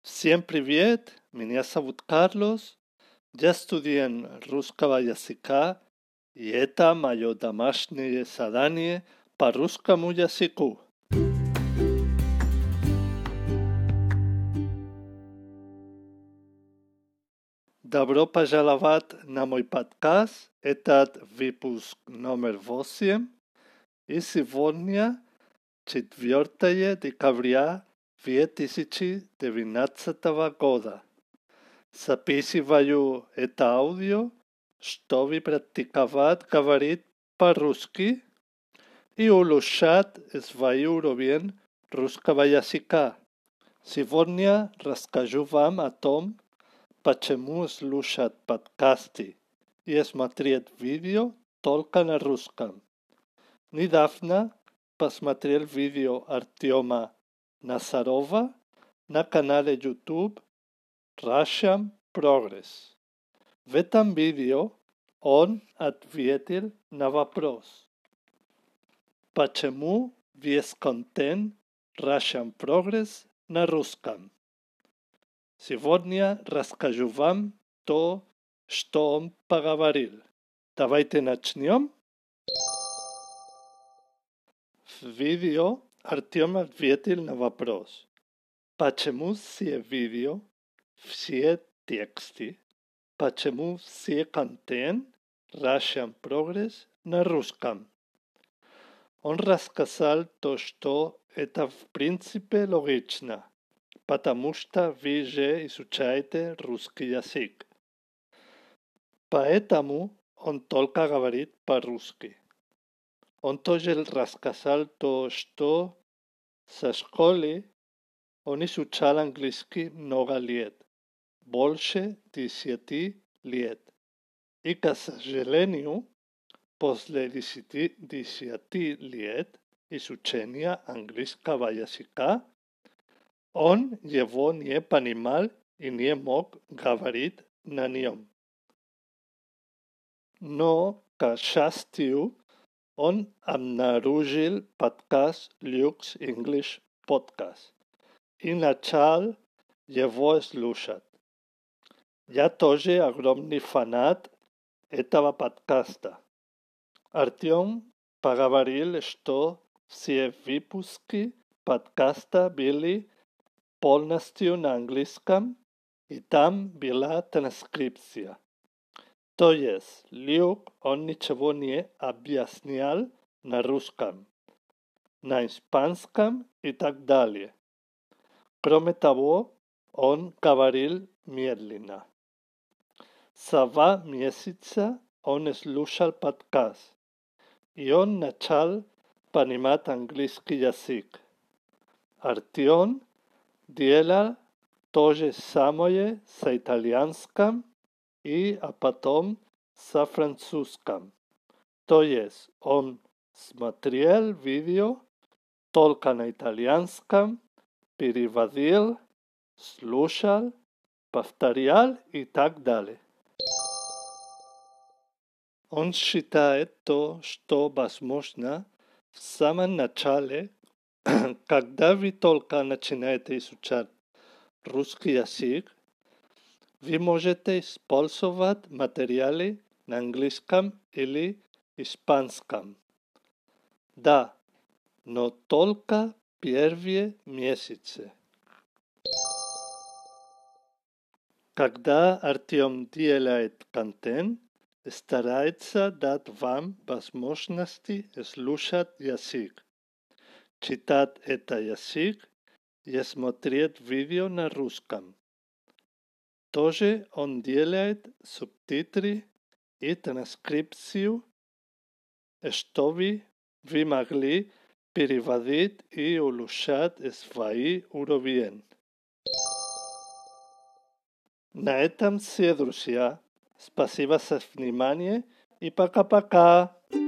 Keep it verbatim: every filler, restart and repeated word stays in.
Всем привет, меня зовут Карлос, я студент русского языка, и это мое домашнее задание по русскому языку. Добро пожаловать на мой подкаст, этот выпуск номер восемь, и сегодня четвёртое декабря две тысячи девятнадцатого года. Записываю это аудио, чтобы практиковать говорить по-русски и улучшать свой уровень русского языка. Сегодня расскажу вам о том, почему слушать подкасты и смотреть видео только на русском. Недавно посмотрел видео Артема Назарова на канале YouTube Russian Progress. В этом видео он ответил на вопрос, почему весь контент Russian Progress на русском. Сегодня расскажу вам то, что он поговорил. Давайте начнем. В видео Артем ответил на вопрос, почему все видео, все тексты, почему все контент Russian Progress на русском. Он рассказал то, что это в принципе логично, потому что вы же изучаете русский язык. Поэтому он только говорит по-русски. Он тоже рассказал то, что со школы он изучал английский много лет, больше десяти лет. И, к сожалению, после десяти, десяти лет изучения английского языка, он его не понимал и не мог говорить на нем. Но, к счастью, он обнаружил подкаст Lux English Podcast и начал его слушать. Я тоже огромный фанат этого подкаста. Артем поговорил, что все выпуски подкаста были полностью на английском, и там была транскрипция. То есть, Люк, он ничего не объяснял на русском, на испанском и так далее. Кроме того, он говорил медленно. За два месяца он слушал подкаст, и он начал понимать английский язык. Артем делал то же самое с итальянским и а потом с французским. То есть он смотрел видео только на итальянском, переводил, слушал, повторял и так далее. Он считает то, что возможно в самом начале, когда вы только начинаете изучать русский язык, вы можете использовать материалы на английском или испанском. Да, но только первые месяцы. Когда Артем делает контент, старается дать вам возможности слушать язык, читать этот язык и смотреть видео на русском. Тоже он делает субтитры и транскрипцию, чтобы вы могли переводить и улучшать свой уровень. На этом все, друзья. Спасибо за внимание и пока-пока.